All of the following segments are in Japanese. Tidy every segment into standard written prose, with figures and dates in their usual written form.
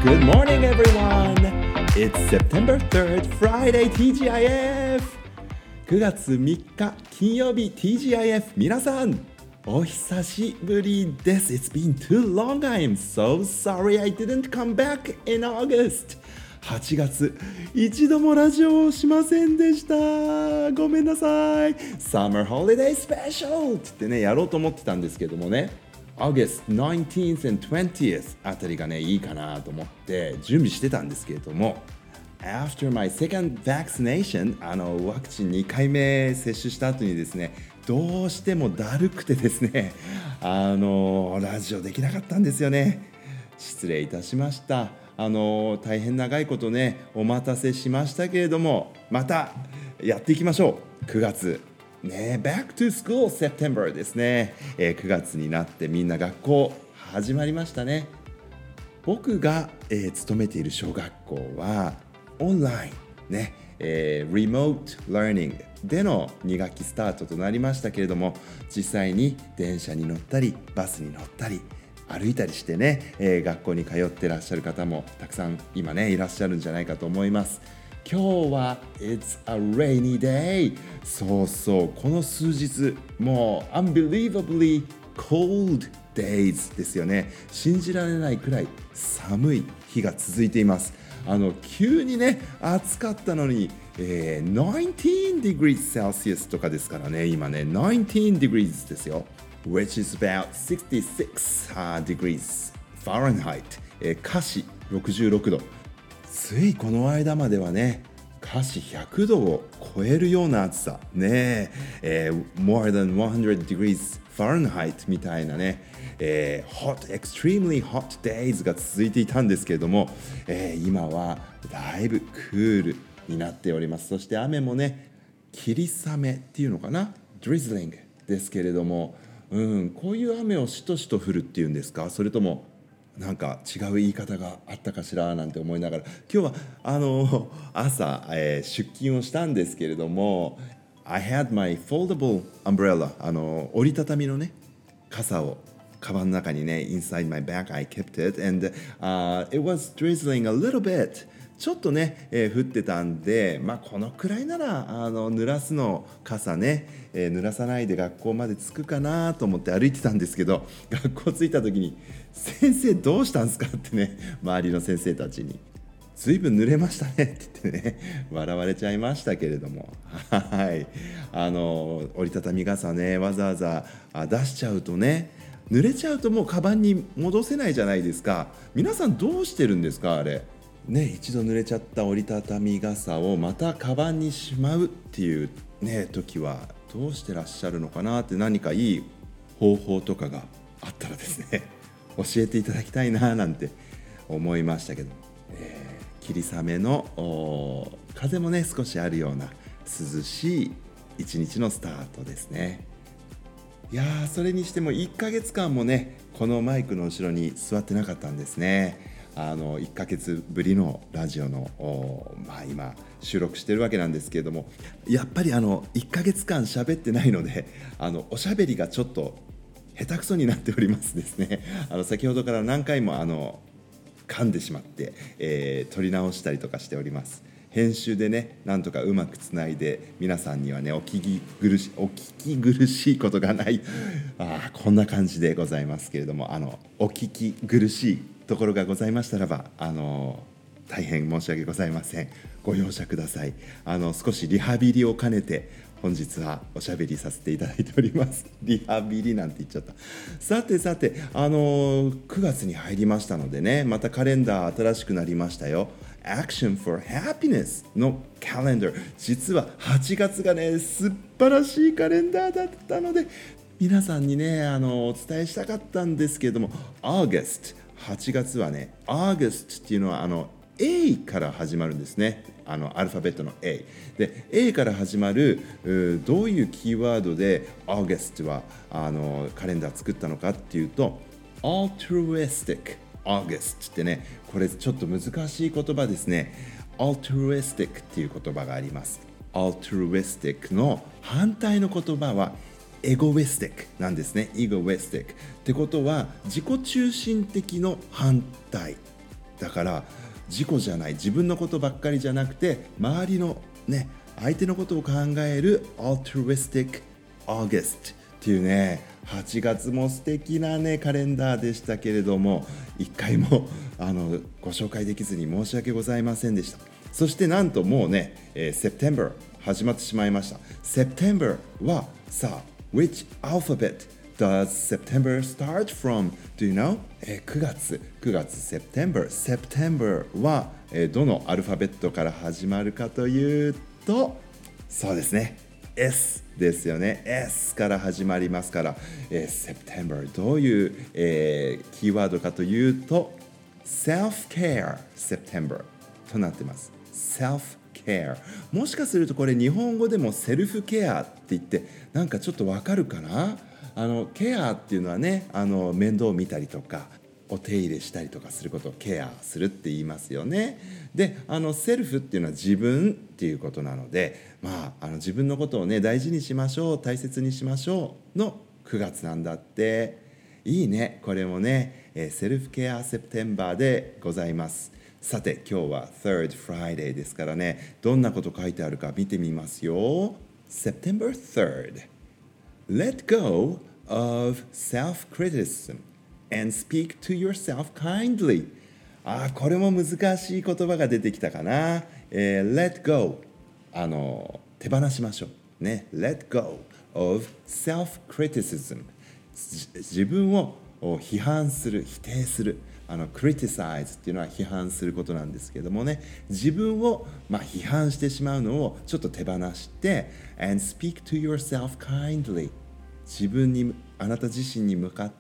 Good morning, everyone! It's September 3rd, Friday TGIF! 9月3日金曜日 TGIF 皆さんお久しぶりです。 It's been too long. I'm so sorry I didn't come back in August. 8月一度もラジオをしませんでした。ごめんなさい。 Summer Holiday Special って言ってねやろうと思ってたんですけどもね、August 19th and 20th あたりがねいいかなと思って準備してたんですけれども、 After my second vaccination ワクチン2回目接種した後にですね、どうしてもだるくてですねラジオできなかったんですよね。失礼いたしました。大変長いことねお待たせしましたけれども、またやっていきましょう。9月ね、Back to School September ですね、9月になってみんな学校始まりましたね。僕が、勤めている小学校はオンラインね、Remote Learning での2学期スタートとなりましたけれども、実際に電車に乗ったりバスに乗ったり歩いたりしてね、学校に通ってらっしゃる方もたくさん今ねいらっしゃるんじゃないかと思います。今日は It's a rainy day。 そうそう、この数日もう unbelievably cold days ですよね。信じられないくらい寒い日が続いています。急にね暑かったのに、19 degrees Celsius とかですからね、今ね19 degrees ですよ。which is about 66 degrees Fahrenheit、華氏66度。ついこの間まではね華氏100度を超えるような暑さね、more than 100 degrees Fahrenheit みたいなね、extremely hot days が続いていたんですけれども、今はだいぶクールになっております。そして雨もね霧雨っていうのかな、 drizzling ですけれども、こういう雨をしとしと降るっていうんですか、それともなんか違う言い方があったかしらなんて思いながら、今日は朝、出勤をしたんですけれども、 I had my foldable umbrella、 折りたたみのね傘をカバンの中にね inside my bag I kept it and、it was drizzling a little bit。ちょっとね、降ってたんで、このくらいなら濡らすの傘ね、濡らさないで学校まで着くかなと思って歩いてたんですけど、学校着いた時に先生どうしたんですかってね、周りの先生たちにずいぶん濡れましたねって言ってね笑われちゃいましたけれども、はい、折りたたみ傘ねわざわざ出しちゃうとね、濡れちゃうともうカバンに戻せないじゃないですか。皆さんどうしてるんですかあれね。一度濡れちゃった折りたたみ傘をまたカバンにしまうっていうね時はどうしてらっしゃるのかなって、何かいい方法とかがあったらですね教えていただきたいななんて思いましたけど、霧雨の風もね少しあるような涼しい一日のスタートですね。いやー、それにしても1ヶ月間もねこのマイクの後ろに座ってなかったんですね。1ヶ月ぶりのラジオの今収録してるわけなんですけれども、やっぱり1ヶ月間喋ってないのでおしゃべりがちょっと下手くそになっておりますですね。先ほどから何回も噛んでしまって、撮り直したりとかしております。編集でねなんとかうまくつないで皆さんにはねお聞き苦しいことがないこんな感じでございますけれども、お聞き苦しいところがございましたらば大変申し訳ございません。ご容赦ください。少しリハビリを兼ねて本日はおしゃべりさせていただいております。リハビリなんて言っちゃった。さて9月に入りましたのでね、またカレンダー新しくなりましたよ。Action for Happiness のカレンダー、実は8月がね素晴らしいカレンダーだったので皆さんにねお伝えしたかったんですけれども、 August 8月はね August っていうのはA から始まるんですね。アルファベットの A で A から始まるどういうキーワードで August はカレンダー作ったのかっていうと Altruistic August ってね、これちょっと難しい言葉ですね。 Altruistic っていう言葉があります。 Altruistic の反対の言葉はエゴイスティックなんですね。エゴイスティックってことは自己中心的の反対だから自己じゃない、自分のことばっかりじゃなくて、周りのね、相手のことを考える Altruistic August っていうね、8月も素敵なねカレンダーでしたけれども、一回もご紹介できずに申し訳ございませんでした。そしてなんともうね、September 始まってしまいました。September はさあ Which alphabet does September start from? Do you know? 9月 September は、どのアルファベットから始まるかというと、そうですね、S ですよね。 S から始まりますから、September どういう、キーワードかというと Self-care September となってます。 Self-care、 もしかするとこれ日本語でもセルフケアって言ってなんかちょっとわかるかな。ケアっていうのはね、面倒を見たりとかお手入れしたりとかすることをケアするって言いますよね。で、セルフっていうのは自分っていうことなので、自分のことをね大事にしましょう、大切にしましょうの9月なんだって。いいね、これもね、セルフケアセプテンバーでございます。さて今日は Third Friday ですからね、どんなこと書いてあるか見てみますよ。 September 3rd Let go of self-criticism and speak to yourself kindly。 これも難しい言葉が出てきたかな。Let go、手放しましょうね。 Let go of self-criticism、 自分を批判する、否定する。criticize っていうのは批判することなんですけどもね、自分を、批判してしまうのをちょっと手放して and speak to yourself kindly、 自分に、あなた自身に向かって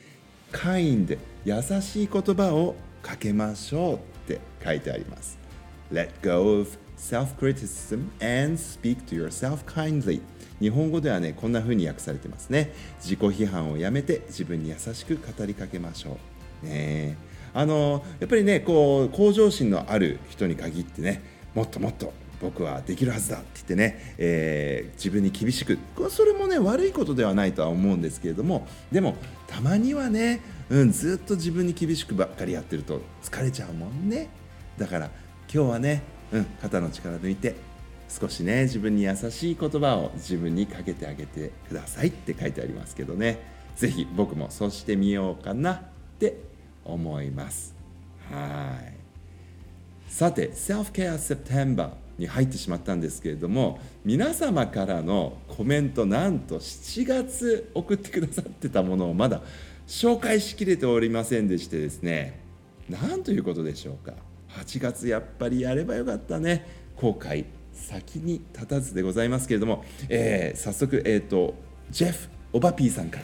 kind、 優しい言葉をかけましょうって書いてあります。 Let go of self-criticism and speak to yourself kindly。 日本語ではねこんな風に訳されてますね。自己批判をやめて自分に優しく語りかけましょうね。やっぱりねこう向上心のある人に限ってね、もっともっと僕はできるはずだって言ってね、自分に厳しく、それもね悪いことではないとは思うんですけれども、でもたまにはね、ずっと自分に厳しくばっかりやってると疲れちゃうもんね。だから今日はね、肩の力抜いて少しね自分に優しい言葉を自分にかけてあげてくださいって書いてありますけどね、ぜひ僕もそうしてみようかなって思います。はい。さて Self-Care September に入ってしまったんですけれども、皆様からのコメント、なんと7月送ってくださってたものをまだ紹介しきれておりませんでしてですね、なんということでしょうか。8月やっぱりやればよかったね。後悔先に立たずでございますけれども、早速、ジェフ・オバピーさんから、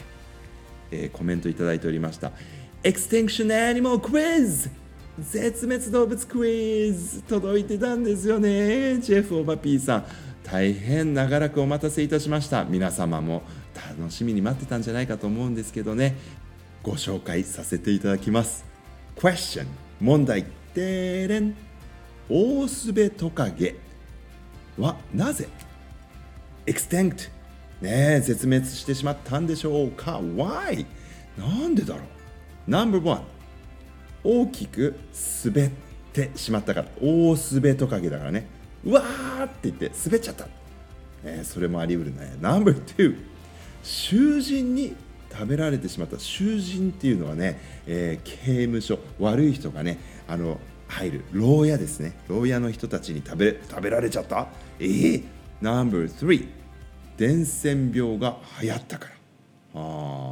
コメントいただいておりました。Extinction Animal Quiz、 絶滅動物クイズ届いてたんですよね。ジェフ・オバピーさん、大変長らくお待たせいたしました。皆様も楽しみに待ってたんじゃないかと思うんですけどね、ご紹介させていただきます。 Question、 問題。てれん、オオスベトカゲはなぜ extinct、絶滅してしまったんでしょうか。 Why、 なんでだろう。 No.1、 大きく滑ってしまったから。オオスベトカゲだからね、うわーって言って滑っちゃった、それもあり得るね。 No.2、 囚人に食べられてしまった。囚人っていうのはね、刑務所、悪い人がね入る牢屋ですね。牢屋の人たちに食べられちゃった。No.3、 伝染病が流行ったから。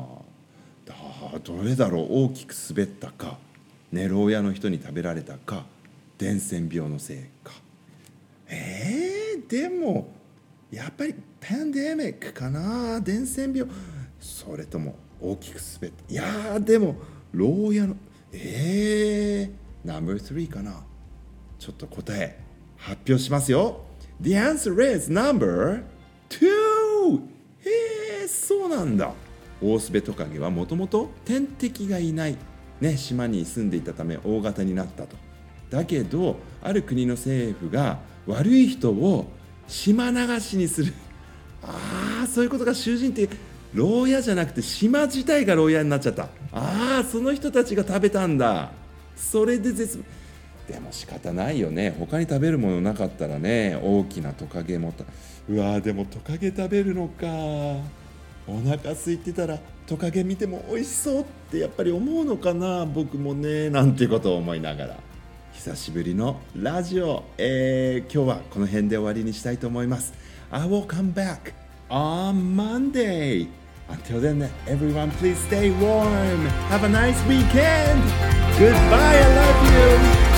どれだろう。大きく滑ったか、牢屋の人に食べられたか、伝染病のせいか。でもやっぱりパンデミックかな。伝染病、それとも大きく滑った。いやーでも牢屋のNo.3 かな。ちょっと答え発表しますよ。 The answer is No.2。 そうなんだ。オオスベトカゲはもともと天敵がいない、島に住んでいたため大型になったと。だけどある国の政府が悪い人を島流しにする。そういうことが。囚人って牢屋じゃなくて島自体が牢屋になっちゃった。その人たちが食べたんだ。 それででも仕方ないよね。他に食べるものなかったらね、大きなトカゲもうわー、でもトカゲ食べるのか。お腹空いてたらトカゲ見ても美味しそうってやっぱり思うのかな、僕もね、なんていうことを思いながら久しぶりのラジオ、今日はこの辺で終わりにしたいと思います。 I will come back on Monday. Until then, everyone, please stay warm. Have a nice weekend. Goodbye. I love you.